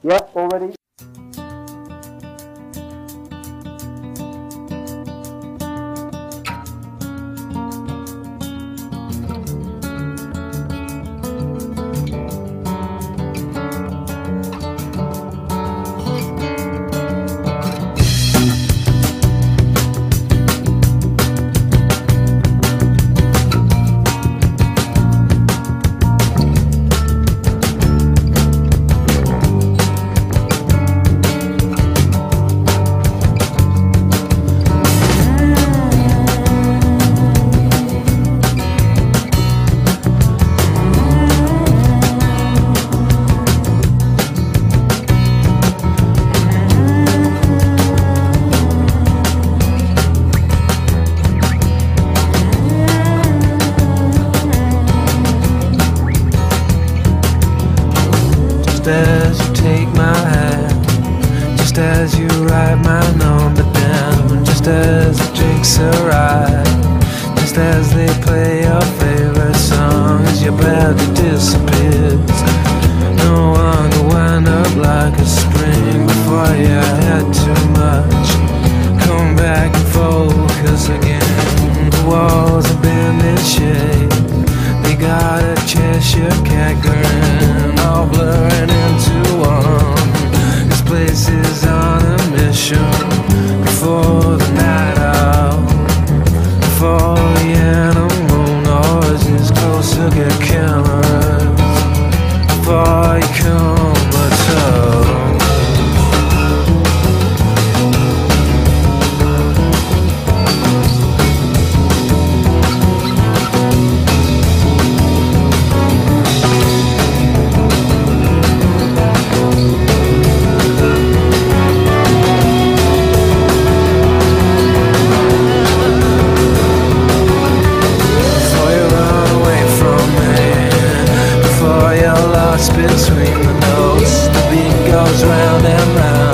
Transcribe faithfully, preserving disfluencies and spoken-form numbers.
Yep, already. Just as you take my hand, just as you write my number down, just as the drinks arrive, just as they play your favorite song, as your body disappears. No one could wind up like a spring before you had too much. Come back and focus again. The walls have been in shape, they got a Cheshire cat grin, all blurring into one. This place is on a mission. Before the night out, before the animal noises closer get cameras, before you come at all. Between the notes, the beat goes round and round.